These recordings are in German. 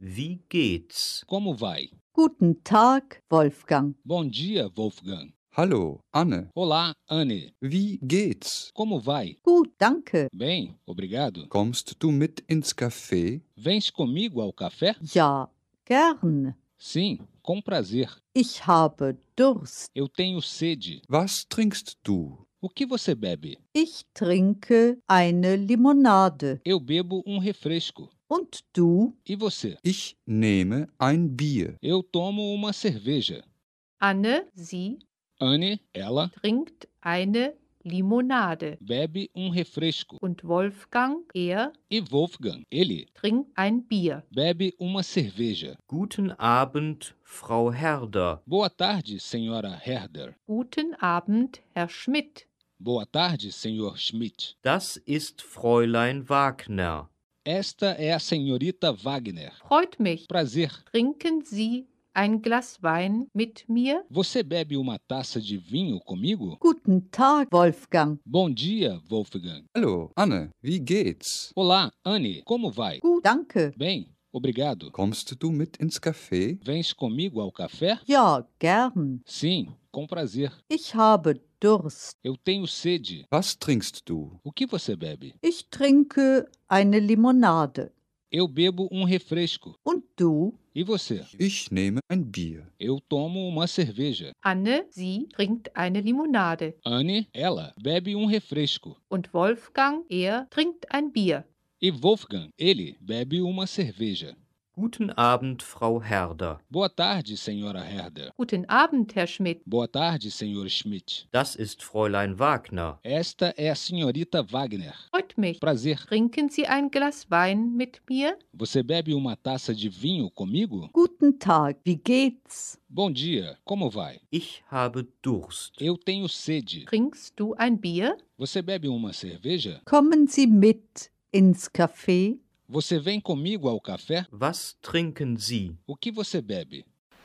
Wie geht's? Como vai? Guten Tag, Wolfgang. Bom dia, Wolfgang. Hallo, Anne. Olá, Anne. Wie geht's? Como vai? Gut, danke. Bem, obrigado. Kommst du mit ins Café? Vens comigo ao café? Ja, gern. Sim, com prazer. Ich habe Durst. Eu tenho sede. Was trinkst du? O que você bebe? Ich trinke eine Limonade. Eu bebo um refresco. Und du? E você? Ich nehme ein Bier. Eu tomo uma cerveja. Anne, sie Anne, ela, trinkt eine Limonade. bebe um refresco. Und Wolfgang, er E Wolfgang, ele, trinkt ein Bier. bebe uma cerveja. Guten Abend, Frau Herder. Boa tarde, senhora Herder. Guten Abend, Herr Schmidt. Boa tarde, senhor Schmidt. Das ist Fräulein Wagner. Esta é a senhorita Wagner. Freut mich. Prazer. Trinken Sie ein Glas Wein mit mir? Você bebe uma taça de vinho comigo? Guten Tag, Wolfgang. Bom dia, Wolfgang. Hallo, Anne. Wie geht's? Olá, Anne. Como vai? Gut, danke. Bem, obrigado. Kommst du mit ins Café? Vens comigo ao café? Ja, gern. Sim, com prazer. Ich habe Durst. Eu tenho sede. Was trinkst du? O que você bebe? Ich trinke eine Limonade. Eu bebo um refresco. Und du? E você? Ich nehme ein Bier. Eu tomo uma cerveja. Anne, sie trinkt eine Limonade. Anne, ela, bebe um refresco. Und Wolfgang, er trinkt ein Bier. E Wolfgang, ele, bebe uma cerveja. Guten Abend, Frau Herder. Boa tarde, senhora Herder. Guten Abend, Herr Schmidt. Boa tarde, senhor Schmidt. Das ist Fräulein Wagner. Esta é a senhorita Wagner. Freut mich. Prazer. Trinken Sie ein Glas Wein mit mir? Você bebe uma taça de vinho comigo? Guten Tag, wie geht's? Bom dia, como vai? Ich habe Durst. Eu tenho sede. Trinkst du ein Bier? Você bebe uma cerveja? Kommen Sie mit ins Café? Você vem comigo ao café? Was trinken Sie? O que você bebe?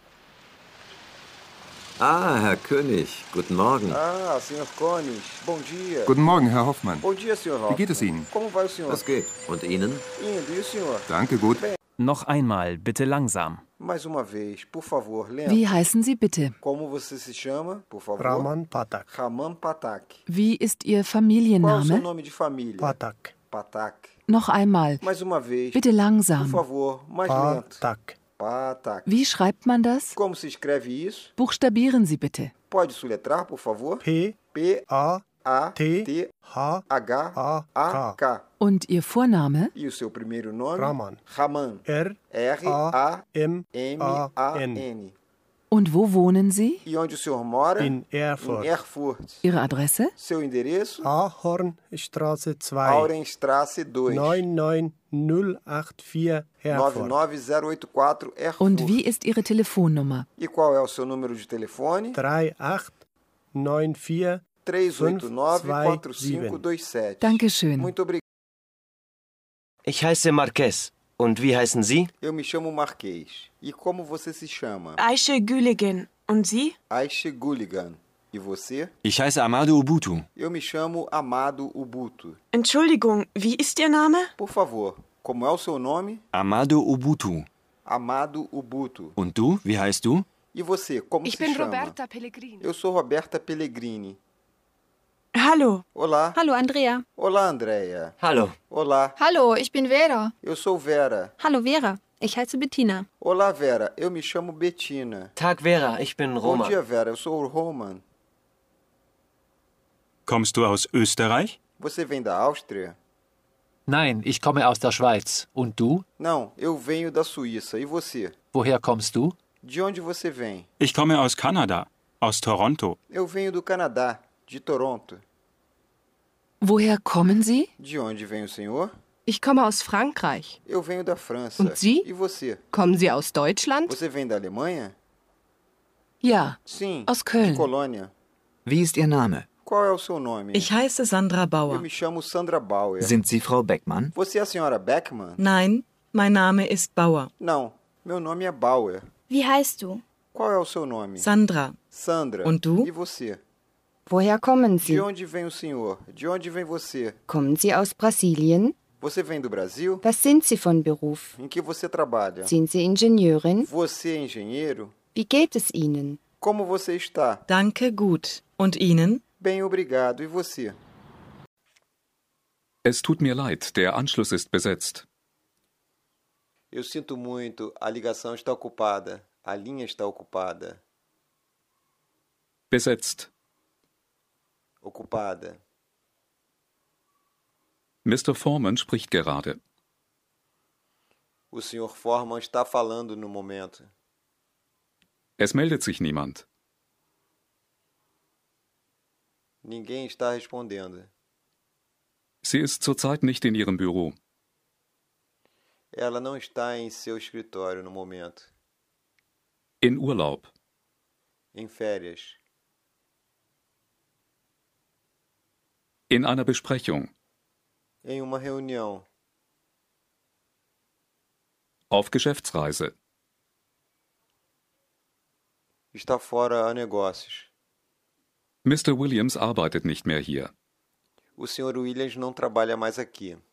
Ah, Herr König, guten Morgen. Ah, Sr. König, bom dia. Guten Morgen, Herr Hoffmann. Bom dia, Sr. Hoffmann. Wie geht es Ihnen? Como vai o senhor? Was geht? Und Ihnen? Indo, e o senhor? Danke, gut. Noch einmal, bitte langsam. Mais uma vez, por favor, lembra. Wie heißen Sie bitte? Como você se chama, por favor? Raman Patak. Raman Patak. Wie ist Ihr Qual é o seu Familienname? nome de família? Patak. Patak. Noch einmal, Mais uma vez, bitte por langsam. favor, mais lento. Patak. Patak. Wie schreibt man das? Como se escreve isso? Buchstabieren Sie bitte. Pode soletrar, por favor? P. P-A-T-H-A-K. Und Ihr Vorname? E o seu primeiro nome? Raman. Raman. R-A-M-A-N. R-A-M-A-N. Und wo wohnen Sie? E onde o senhor mora? In Erfurt. Em Erfurt. Ihre Adresse? Seu endereço? Ahornstraße 2. Aurenstraße 2. 99084 Erfurt. 99084 Erfurt. Und wie ist Ihre Telefonnummer? E qual é o seu número de telefone? 3894 389-4527. Dankeschön. Muito obrigado. Ich heiße Marquez. Und wie heißen Sie? Eu me chamo Marquês. E como você se chama? Aische Güligen. Und Sie? Aische Guligan. E você? Ich heiße Amado Ubutu. Eu me chamo Amado Ubutu. Entschuldigung, wie ist Ihr Name? Por favor, como é o seu nome? Amado Ubutu. Amado Ubutu. Und du? Wie heißt du? E você, como se chama? Roberta Pellegrini. Eu sou Roberta Pellegrini. Hallo. Olá. Hallo Andrea. Olá, Andréia. Hallo. Olá. Hallo, ich bin Vera. Eu sou Vera. Hallo Vera, ich heiße Bettina. Olá, Vera. Eu me chamo Bettina. Tag Vera, ich bin Bom Roman. dia, Vera. Eu sou o Roman. Kommst du aus Österreich? Você vem da Áustria? Nein, ich komme aus der Schweiz. Und du? Não, eu venho da Suíça. E você? Woher kommst du? De onde você vem? Ich komme aus Kanada, aus Toronto. Eu venho do Canadá, de Toronto. Woher kommen Sie? De onde vem o senhor? Ich komme aus Frankreich. Eu venho da França. Und Sie? E você? Kommen Sie aus Deutschland? Você vem da Alemanha? Ja, Sim, aus de Köln. Colônia. Wie ist Ihr Name? Qual é o seu nome? Ich heiße Sandra Eu Bauer. me chamo Sandra Bauer. Sind Sie Frau Beckmann? Você é a senhora Beckmann? Nein, mein Name ist Bauer. Não, meu nome é Bauer. Wie heißt du? Qual é o seu nome? Sandra. Sandra. Und du? E você? Woher kommen De onde vem o senhor? De onde vem você? Kommen Sie aus Brasilien? Você vem do Brasil? Was sind Sie von Beruf? Em que você trabalha? Sind Sie Ingenieurin? Você é engenheiro? Wie geht es Ihnen? Como você está? Danke, gut. Und Ihnen? Bem, obrigado. E você? Es tut mir leid, der Anschluss ist besetzt. Eu sinto muito, a ligação está ocupada. A linha está ocupada. Besetzt. Ocupada. Mr. Foreman spricht gerade. O Sr. Foreman está falando no momento. Es meldet sich niemand. Ninguém está respondendo. Sie ist zurzeit nicht in ihrem Büro. Ela não está em seu escritório no momento. In Urlaub. Em férias. In einer Besprechung. Em uma reunião. Auf Geschäftsreise. Está fora a negócios. Mr. Williams arbeitet nicht mehr hier. O Sr. Williams não trabalha mais aqui.